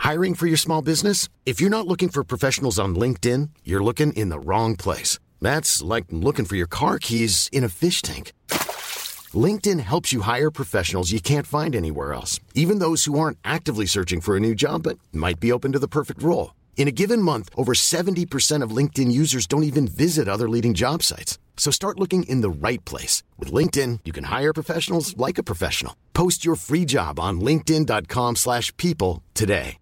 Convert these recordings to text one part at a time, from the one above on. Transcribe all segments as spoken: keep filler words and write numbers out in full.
Hiring for your small business? If you're not looking for professionals on LinkedIn, you're looking in the wrong place. That's like looking for your car keys in a fish tank. LinkedIn helps you hire professionals you can't find anywhere else, even those who aren't actively searching for a new job but might be open to the perfect role. In a given month, over seventy percent of LinkedIn users don't even visit other leading job sites. So start looking in the right place. With LinkedIn, you can hire professionals like a professional. Post your free job on linkedin.com slash people today.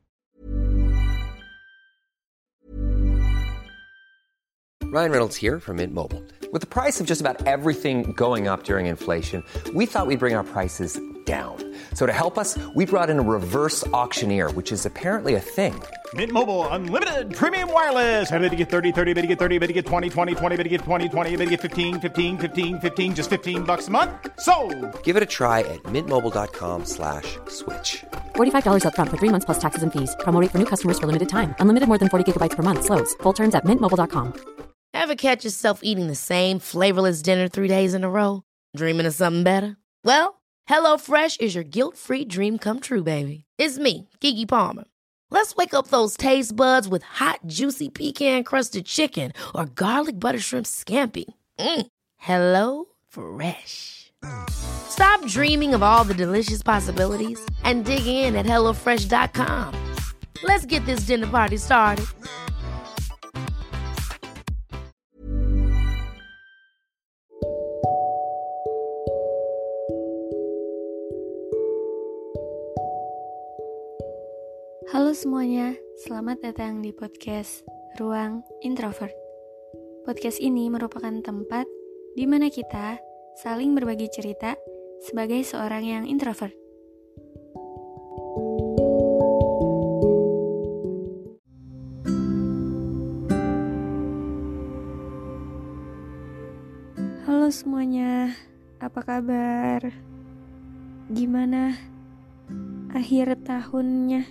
Ryan Reynolds here from Mint Mobile. With the price of just about everything going up during inflation, we thought we'd bring our prices down. So to help us, we brought in a reverse auctioneer, which is apparently a thing. Mint Mobile Unlimited Premium Wireless. How to get thirty, thirty, how to get thirty, how to get twenty, twenty, twenty, how to get twenty, twenty, how to get fifteen, fifteen, fifteen, fifteen, just fifteen bucks a month? Sold! Give it a try at mintmobile.com slash switch. forty-five dollars up front for three months plus taxes and fees. Promo rate for new customers for limited time. Unlimited more than forty gigabytes per month. Slows full terms at mint mobile dot com. Ever catch yourself eating the same flavorless dinner three days in a row? Dreaming of something better? Well, HelloFresh is your guilt-free dream come true, baby. It's me, Keke Palmer. Let's wake up those taste buds with hot, juicy pecan-crusted chicken or garlic butter shrimp scampi. Mm. Hello Fresh. Stop dreaming of all the delicious possibilities and dig in at hello fresh dot com. Let's get this dinner party started. Halo semuanya, selamat datang di podcast Ruang Introvert. Podcast ini merupakan tempat di mana kita saling berbagi cerita sebagai seorang yang introvert. Halo semuanya, apa kabar? Gimana akhir tahunnya?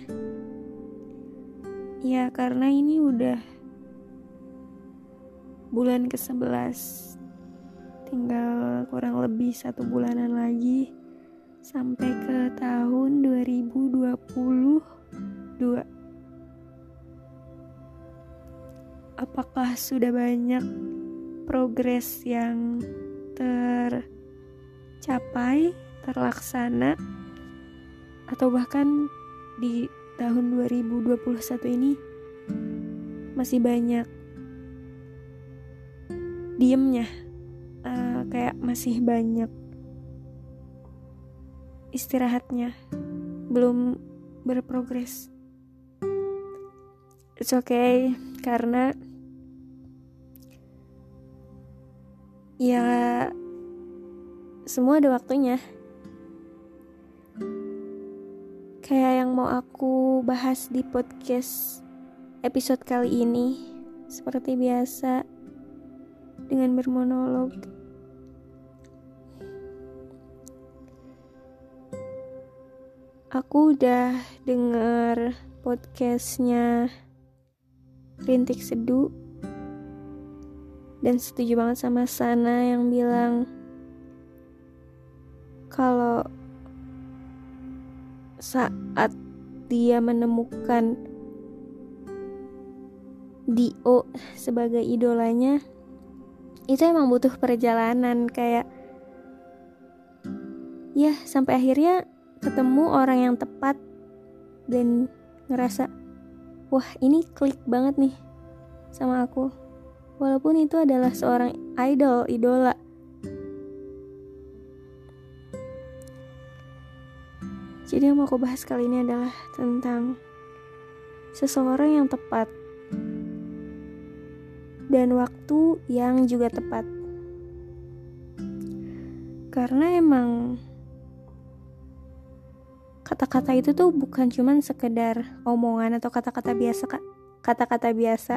Ya, karena ini udah bulan kesebelas, tinggal kurang lebih satu bulanan lagi sampai ke tahun dua ribu dua puluh dua. Apakah sudah banyak progres yang tercapai, terlaksana, atau bahkan di tahun dua ribu dua puluh satu ini masih banyak diemnya, uh, kayak masih banyak istirahatnya, belum berprogres. It's okay, karena ya semua ada waktunya. Kayak yang mau aku bahas di podcast episode kali ini, seperti biasa dengan bermonolog. Aku udah denger podcastnya Rintik Seduh dan setuju banget sama Sana yang bilang kalau saat dia menemukan Dio sebagai idolanya, itu emang butuh perjalanan, kayak ya sampai akhirnya ketemu orang yang tepat dan ngerasa wah ini klik banget nih sama aku, walaupun itu adalah seorang idol, idola. Jadi yang mau aku bahas kali ini adalah tentang seseorang yang tepat dan waktu yang juga tepat. Karena emang kata-kata itu tuh bukan cuman sekedar omongan atau kata-kata biasa, kata-kata biasa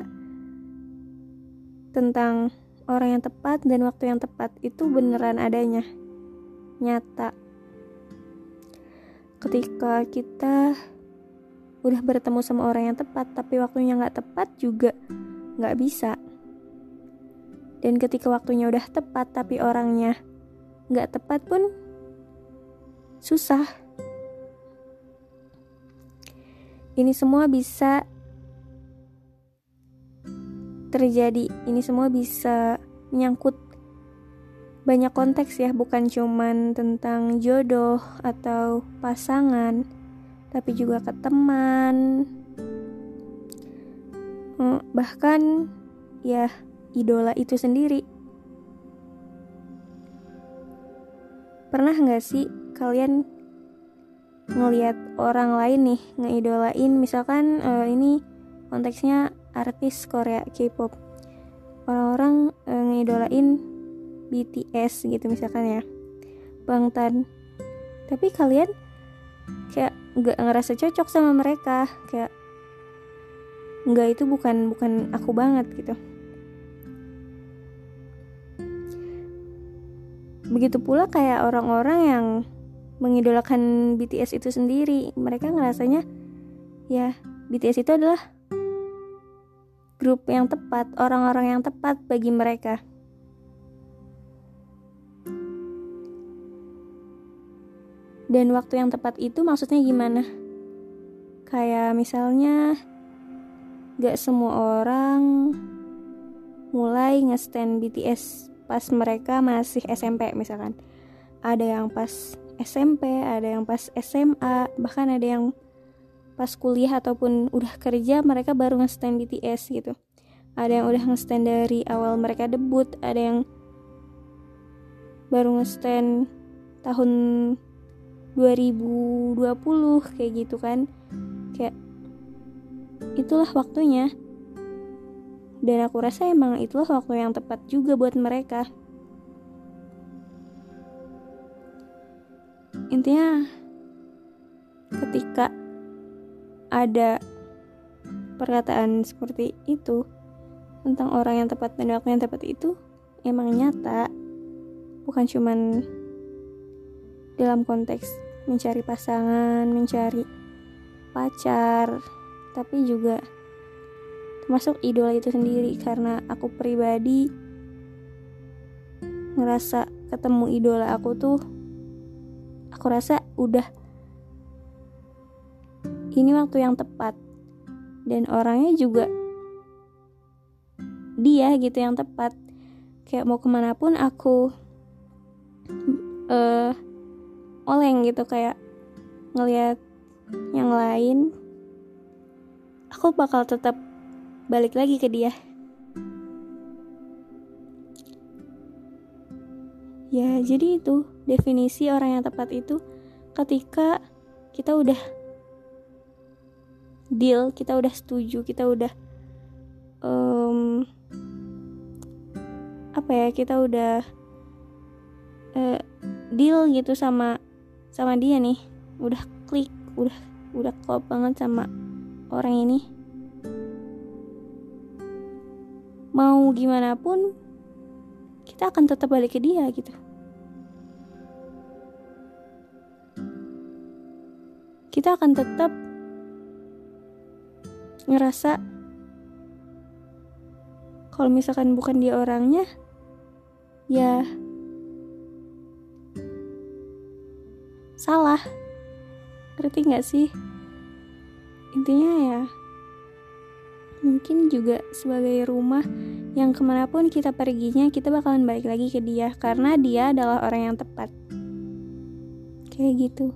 tentang orang yang tepat dan waktu yang tepat. Itu beneran adanya, nyata. Ketika kita udah bertemu sama orang yang tepat tapi waktunya gak tepat juga gak bisa. Dan ketika waktunya udah tepat tapi orangnya gak tepat pun susah. ini semua bisa terjadi, ini semua bisa menyangkut banyak konteks ya, bukan cuman tentang jodoh atau pasangan, tapi juga ke teman, bahkan ya idola itu sendiri. Pernah gak sih kalian ngelihat orang lain nih ngeidolain, misalkan uh, ini konteksnya artis Korea K-pop, orang-orang uh, ngeidolain B T S gitu misalkan ya, Bangtan, tapi kalian kayak nggak ngerasa cocok sama mereka, kayak nggak, itu bukan bukan aku banget gitu. Begitu pula kayak orang-orang yang mengidolakan B T S itu sendiri, mereka ngerasanya ya B T S itu adalah grup yang tepat, orang-orang yang tepat bagi mereka. Dan waktu yang tepat itu maksudnya gimana? Kayak misalnya gak semua orang mulai nge-stan B T S pas mereka masih S M P misalkan. Ada yang pas S M P, ada yang pas S M A, bahkan ada yang pas kuliah ataupun udah kerja mereka baru nge-stan B T S gitu. Ada yang udah nge-stan dari awal mereka debut, ada yang baru nge-stan tahun dua ribu dua puluh kayak gitu kan. Kayak itulah waktunya. Dan aku rasa emang itulah waktu yang tepat juga buat mereka. Intinya ketika ada perkataan seperti itu tentang orang yang tepat dan waktu yang tepat itu emang nyata, bukan cuman dalam konteks mencari pasangan, mencari pacar, tapi juga termasuk idola itu sendiri. Karena aku pribadi ngerasa ketemu idola aku tuh, aku rasa udah ini waktu yang tepat, dan orangnya juga dia gitu yang tepat. Kayak mau kemana pun aku uh, oleng gitu, kayak ngelihat yang lain aku bakal tetap balik lagi ke dia. Ya jadi itu definisi orang yang tepat itu, ketika kita udah deal, kita udah setuju, kita udah um, apa ya, kita udah uh, deal gitu sama sama dia nih, udah klik, udah udah klop banget sama orang ini. Mau gimana pun kita akan tetap balik ke dia gitu. Kita akan tetap ngerasa kalau misalkan bukan dia orangnya, ya salah. Ngerti gak sih? Intinya ya mungkin juga sebagai rumah yang kemanapun kita perginya, kita bakalan balik lagi ke dia, karena dia adalah orang yang tepat. Kayak gitu.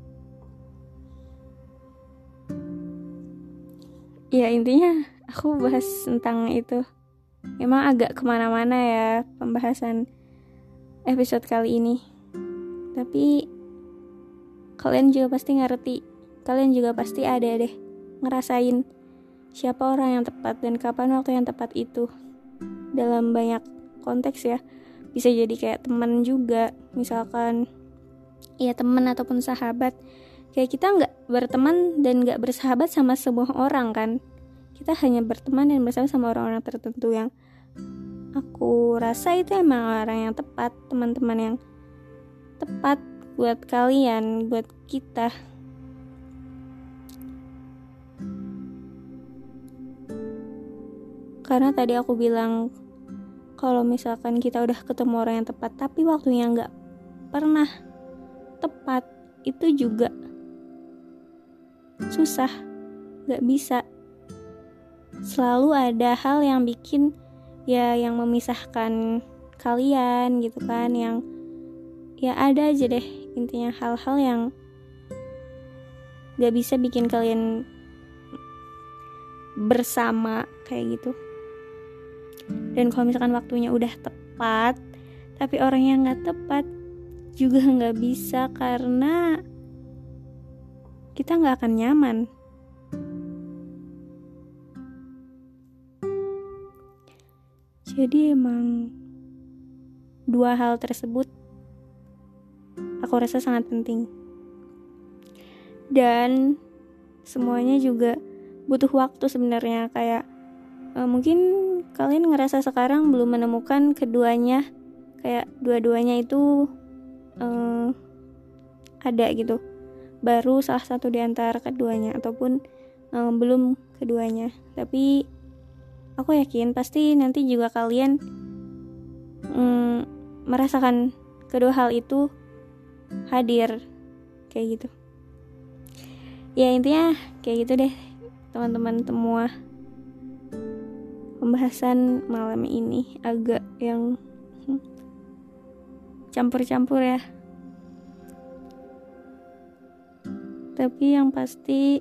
Ya intinya aku bahas tentang itu emang agak kemana-mana ya pembahasan episode kali ini. Tapi kalian juga pasti ngerti, kalian juga pasti ada deh ngerasain siapa orang yang tepat dan kapan waktu yang tepat itu. Dalam banyak konteks ya, bisa jadi kayak teman juga, misalkan ya teman ataupun sahabat. Kayak kita gak berteman dan gak bersahabat sama semua orang kan. Kita hanya berteman dan bersama sama orang-orang tertentu yang aku rasa itu emang orang yang tepat, teman-teman yang tepat buat kalian, buat kita. Karena tadi aku bilang kalau misalkan kita udah ketemu orang yang tepat tapi waktunya gak pernah tepat, itu juga susah. gak bisa. Selalu ada hal yang bikin, ya yang memisahkan kalian gitu kan, yang ya ada aja deh intinya hal-hal yang gak bisa bikin kalian bersama kayak gitu. Dan kalau misalkan waktunya udah tepat tapi orangnya gak tepat juga gak bisa, karena kita gak akan nyaman. Jadi emang dua hal tersebut aku rasa sangat penting. Dan semuanya juga butuh waktu sebenarnya. Kayak uh, mungkin kalian ngerasa sekarang belum menemukan keduanya, kayak dua-duanya itu uh, ada gitu, baru salah satu di antara keduanya, ataupun uh, belum keduanya. Tapi aku yakin pasti nanti juga kalian um, merasakan kedua hal itu hadir kayak gitu. Ya intinya kayak gitu deh teman-teman semua. Pembahasan malam ini agak yang hmm, campur-campur ya. Tapi yang pasti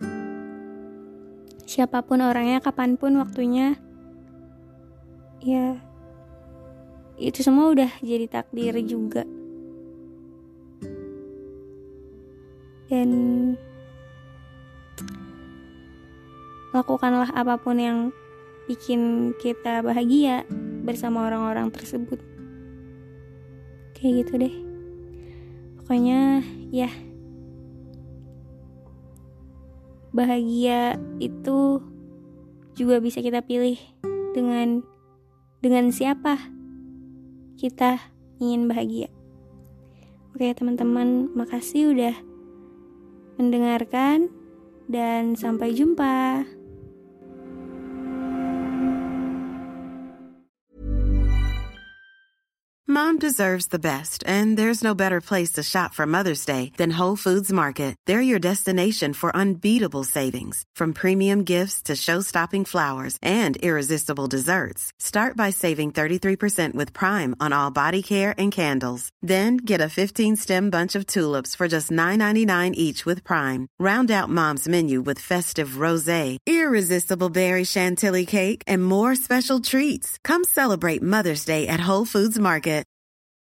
siapapun orangnya, kapanpun waktunya, ya itu semua udah jadi takdir juga. Dan lakukanlah apapun yang bikin kita bahagia bersama orang-orang tersebut. Kayak gitu deh. Pokoknya ya, bahagia itu juga bisa kita pilih dengan dengan siapa kita ingin bahagia. Oke teman-teman, makasih udah mendengarkan dan sampai jumpa. Mom deserves the best, and there's no better place to shop for Mother's Day than Whole Foods Market. They're your destination for unbeatable savings, from premium gifts to show-stopping flowers and irresistible desserts. Start by saving thirty-three percent with Prime on all body care and candles. Then get a fifteen-stem bunch of tulips for just nine ninety-nine each with Prime. Round out Mom's menu with festive rosé, irresistible berry chantilly cake, and more special treats. Come celebrate Mother's Day at Whole Foods Market.